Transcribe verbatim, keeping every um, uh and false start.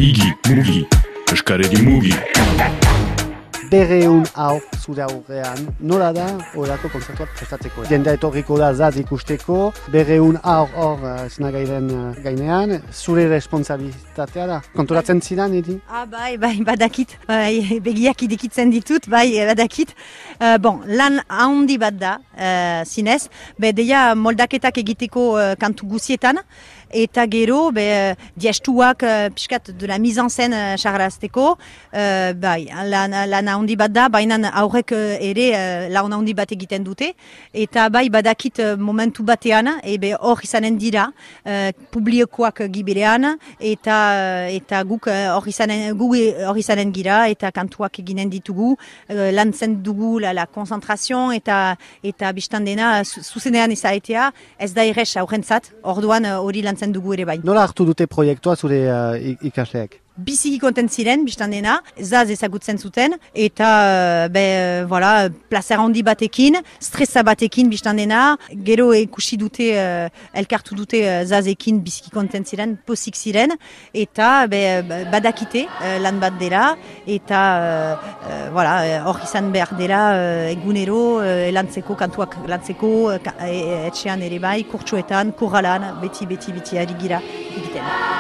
Igi, mugi, eskaredi mugi. Berreun hau zure aurrean, nola da horako kontzertuak prestatzeko? Jendea etorriko da zaz ikusteko, berreun hau hor esnagairen gainean, zure responsabilitatea da. Konturatzen zidan, edi? Ah, bai, bai, badakit, bai, begiak idikitzen ditut, bai, badakit. Uh, bon, lan handi bat da, uh, zinez, be deia moldaketak egiteko uh, kantu guzietan, eta gero, be, diestuak uh, piskat de la mise en scène uh, charrazteko, uh, bai, lan, lan handi bat da, baina aurrek uh, ere uh, lan handi bat egiten dute, eta bai, badakit uh, momentu batean, ebe hor izanen dira, uh, publikoak giberean, eta uh, eta guk hor uh, izanen, gu hor izanen gira, eta kantuak eginen ditugu, uh, lantzen dugu la, la konzentrazion, eta eta biztan dena, zuzenean izaitea, ez da errez aurrentzat, orduan hori uh, lantzen dugu ere bai. Nola hartu dute proiektua zure uh, ikasleak? Biziki konten ziren, biztan dena, zaz ezagutzen zuten, eta be, voilà, plazer handi batekin, stresa batekin biztan dena, gero ikusi dute, uh, elkartu dute uh, zazekin biziki konten ziren, posik ziren, eta be, badakite uh, lan bat dela, eta uh, uh, voilà, hor izan behar dela uh, egunero uh, lantzeko, kantuak lantzeko, uh, etxean ere bai, kurtsuetan, korralan, beti, beti, beti ari gira egiten.